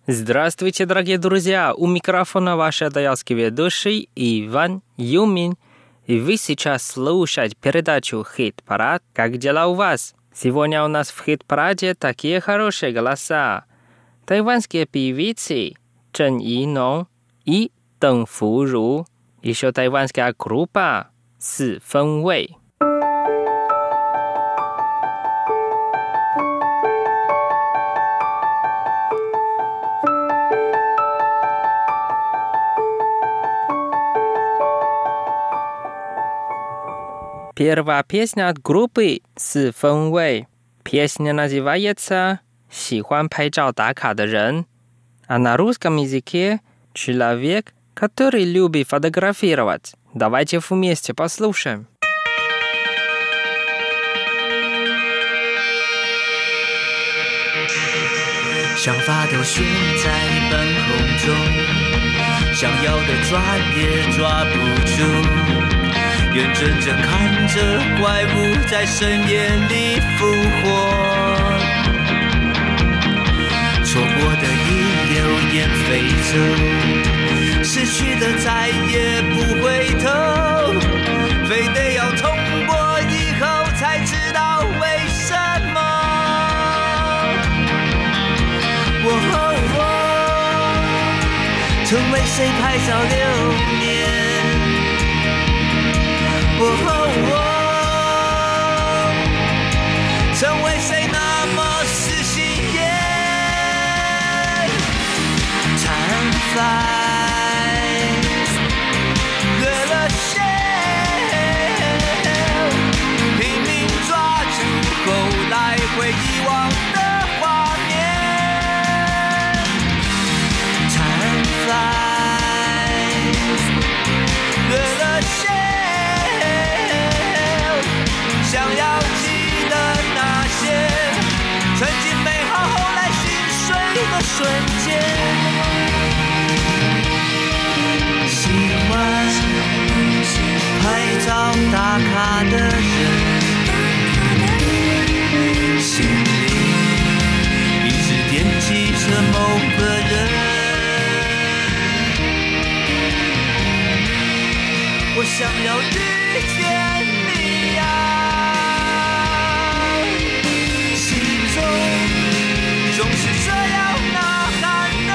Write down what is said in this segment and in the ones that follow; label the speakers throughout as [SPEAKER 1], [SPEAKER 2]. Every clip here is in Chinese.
[SPEAKER 1] Здравствуйте, дорогие друзья! У микрофона ваш даялский ведущий Иван Юмин. И вы сейчас слушаете передачу «Хит-парад». Как дела у вас? Сегодня у нас в «Хит-параде» такие хорошие голоса. Тайванские певицы Чжэн Йинong и Дэн Фуру. Еще тайванская группа Си Фэн Вэй. Первая песня от группы Си Фэн Вэй. Песня называется «喜欢拍照打卡的人», а на русском языке «человек, который любит фотографировать». Давайте вместе послушаем.
[SPEAKER 2] 想法都悬在半空中，想要的抓也抓不住。眼睁睁看着怪物在深夜里复活，错过的一流烟飞走，失去的再也不回头，非得要痛过以后才知道为什么。成为谁拍照留念？成为谁那么死心眼？Time flies， 热了线，拼命抓住后来会遗忘的画面。Time flies， 热了线。想要记得那些曾经美好后来心碎的瞬间，喜欢拍照打卡的人，心里一直惦记着某个人。我想要遇见你呀，总是这样呐喊的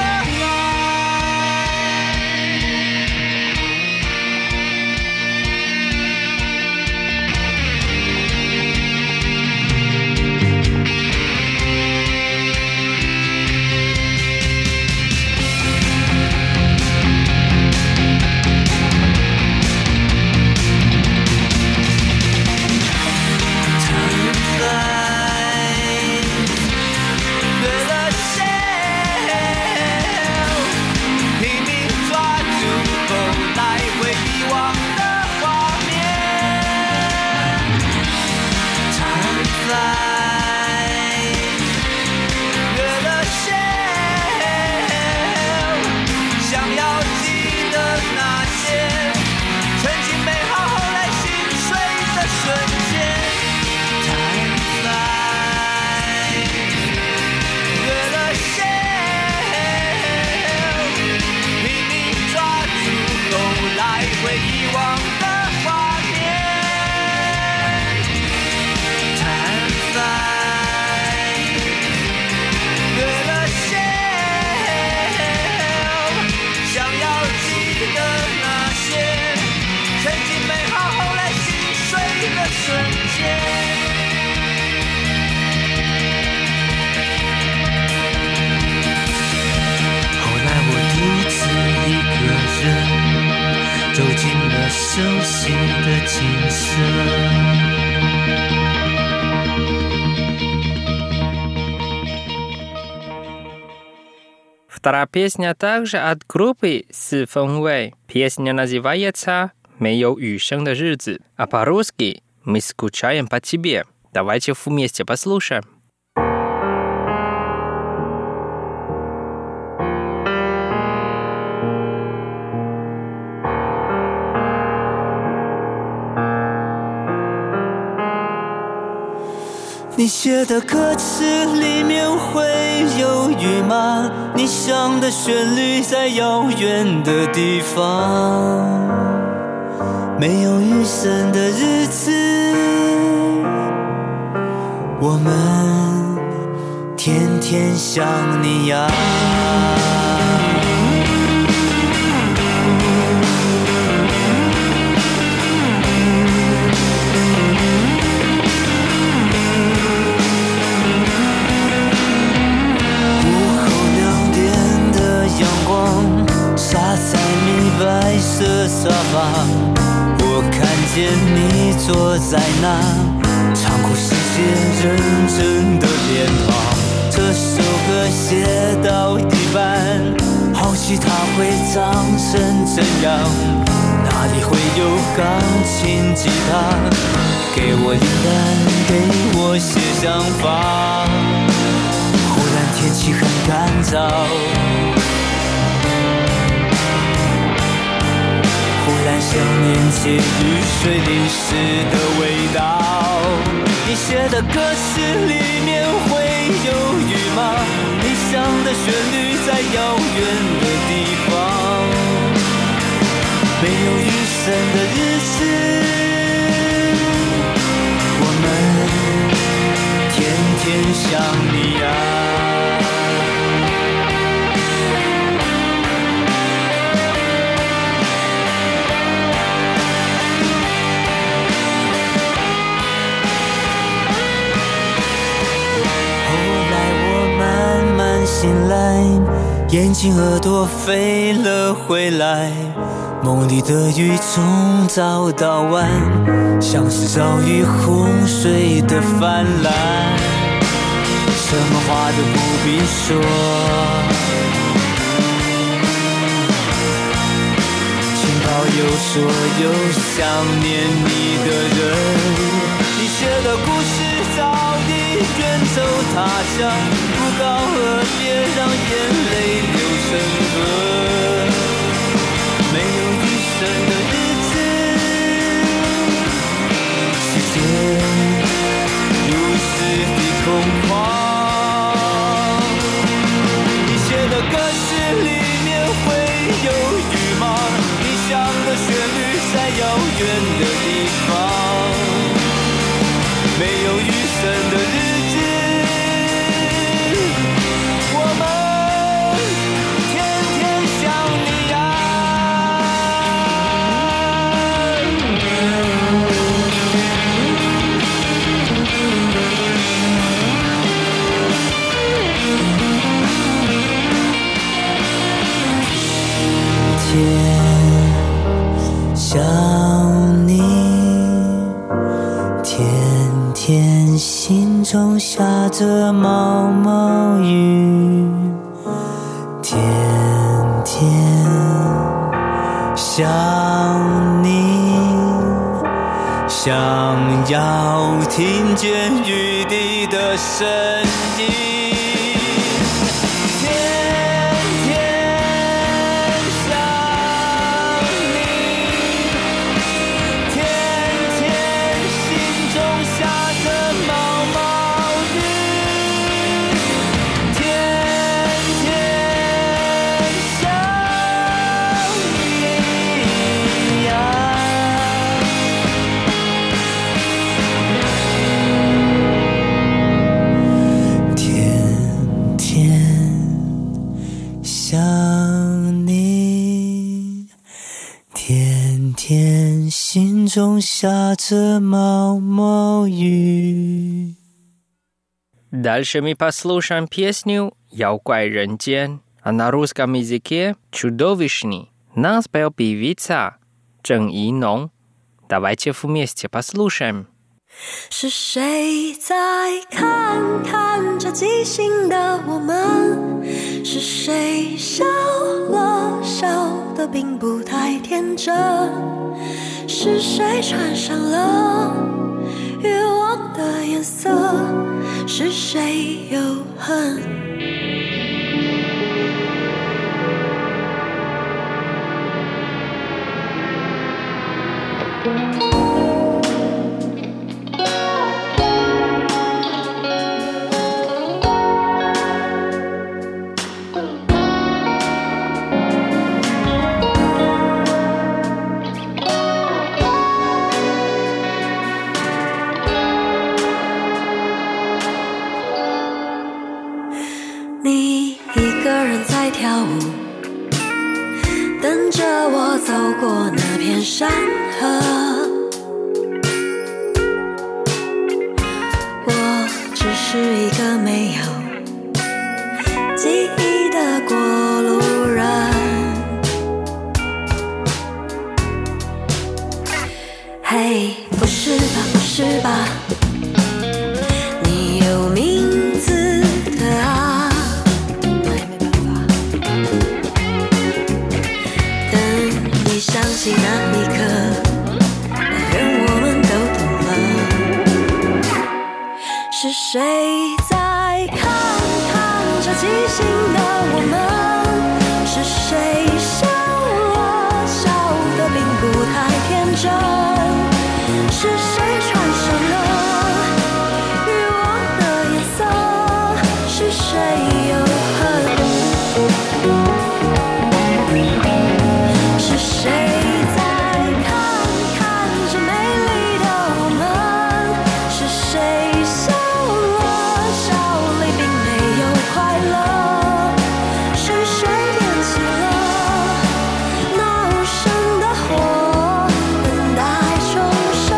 [SPEAKER 2] 走进了熟悉的景色。
[SPEAKER 1] Вторая песня также от группы Си Фэн Вэй. Песня называется «没有雨声的日子», а по-русски «Мы скучаем по тебе». Давайте вместе послушаем.
[SPEAKER 2] 你写的歌词里面会有雨吗？你想的旋律在遥远的地方，没有雨声的日子，我们天天想你呀。洒在米白色沙发，我看见你坐在那，唱过世界认真的脸庞。这首歌写到一半，好奇它会长成怎样，哪里会有钢琴吉他，给我灵感，给我些想法。忽然天气很干燥，忽然想念起雨水淋湿的味道。你写的歌词里面会有雨吗？你想的旋律在遥远的地方，没有雨声的日子，我们天天想你啊。醒来，眼睛耳朵飞了回来，梦里的雨从早到晚，像是遭遇洪水的泛滥，什么话都不必说，请保佑所有想念你的人。你写的故事早已远走他乡，不告而别，让眼泪流成河。没有雨声的日子，世界如此的空旷。你写的歌词里面会有雨吗？你想的旋律在遥远的地方，没有雨声的日子，我们天天想你啊。天想你，天天心中下着毛毛雨，天天想你，想要听见雨滴的声音。心中下着毛毛雨。
[SPEAKER 1] Дальше мы послушаем песню «Яукай рентген», а на русском языке «Чудовищный». Нас спел певица Чжэн Йинong. Давайте вместе послушаем.
[SPEAKER 3] 是谁在看看着即兴的我们？是谁笑了，笑得并不太天真？是谁穿上了欲望的颜色？是谁又恨？ 等着我走过那片山河。我只是一个没有记忆的过路人。嘿，不是吧，不是吧，你有名字的啊，那也没办法。等你想起那一刻，那人我们都懂了。是谁在看着即兴的我们？是谁笑了，笑得并不太天真？是谁穿上了欲望的颜色？是谁又恨？是谁在看着美丽的我们？是谁笑了，笑里并没有快乐？是谁点起了那无声的火，等待重生？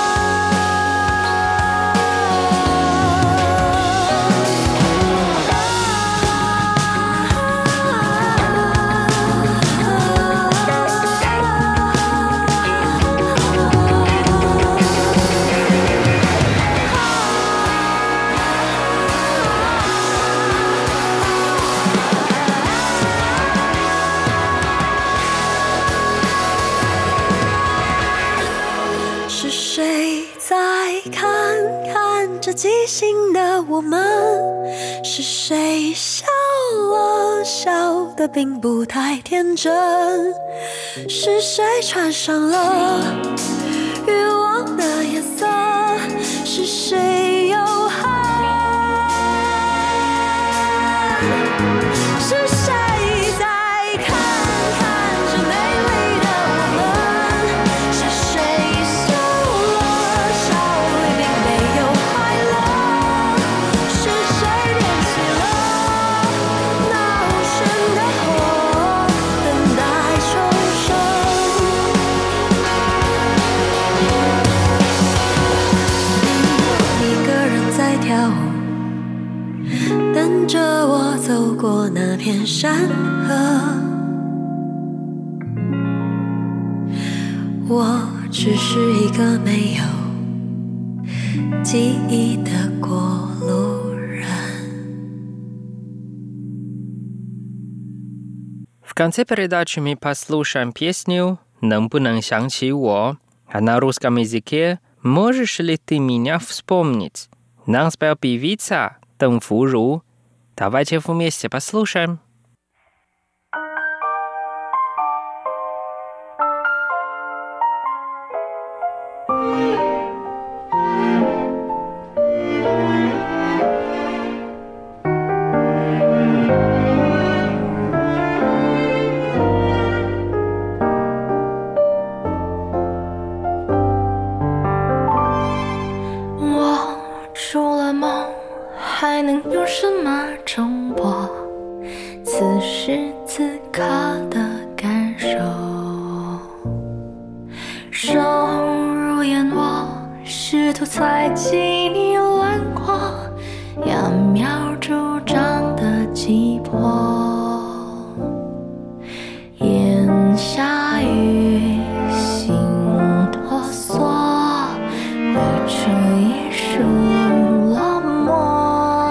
[SPEAKER 3] 是谁在看着即兴的我们？是谁笑了，笑得并不太天真？是谁穿上了欲望的颜色？是谁又恨？是谁在看着美丽的我们？是谁笑了，笑里并没有快乐？是谁点起了那无声的火，等待重生？一个人在跳舞，等着我走过那片山河。我只是一个没有记忆的过路人。
[SPEAKER 1] В конце передачи мы послушаем песню «Нам不能想起我», а на русском языке «Можешь ли ты меня вспомнить?» Нам спел певица Дэн Фуру. Давайте вместе послушаем.
[SPEAKER 4] 还能有什么争驳此时此刻的感受？手如眼窝，试图猜忌你轮廓，揠苗助长的急迫。眼下雨，心哆嗦，绘出一束落寞。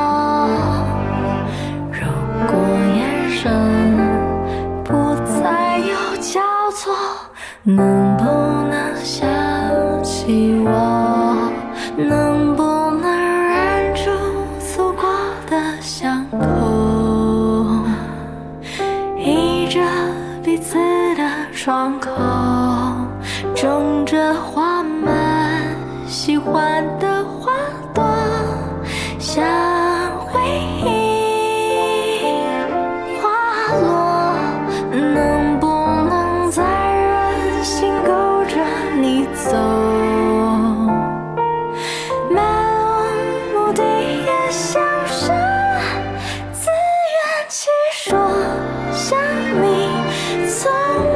[SPEAKER 4] 能不能想起我？能不能忍住走过的巷口？依着彼此的窗口，种着花们喜欢的花朵，像回忆滑落。能不能在心勾着你走，漫无目的也像是自圆其说，想你从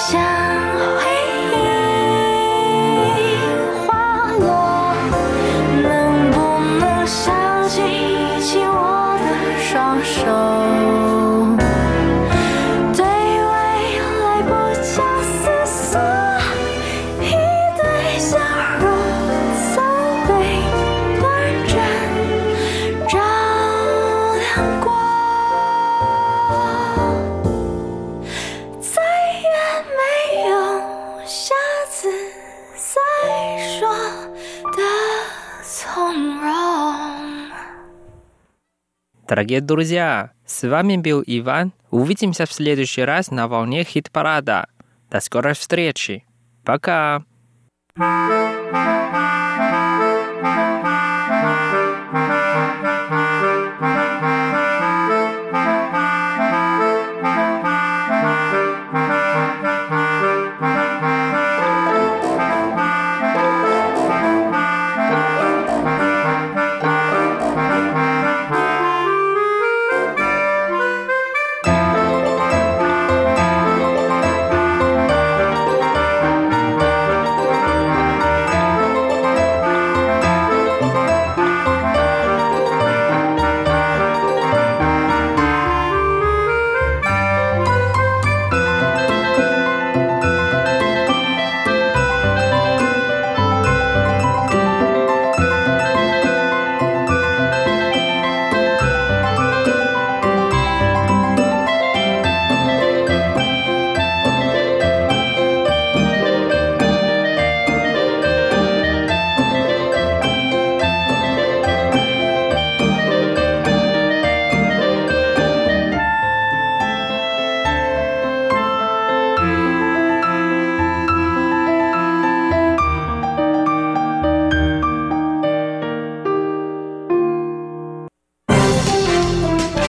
[SPEAKER 4] 现回忆滑落，能不能想起我的双手，对未来不假思索，一对笑容早被短暂照亮过，再也没有下次再说的从容。
[SPEAKER 1] Дорогие друзья, с вами был Иван. Увидимся в следующий раз на волне хит-парада. До скорой встречи. Пока!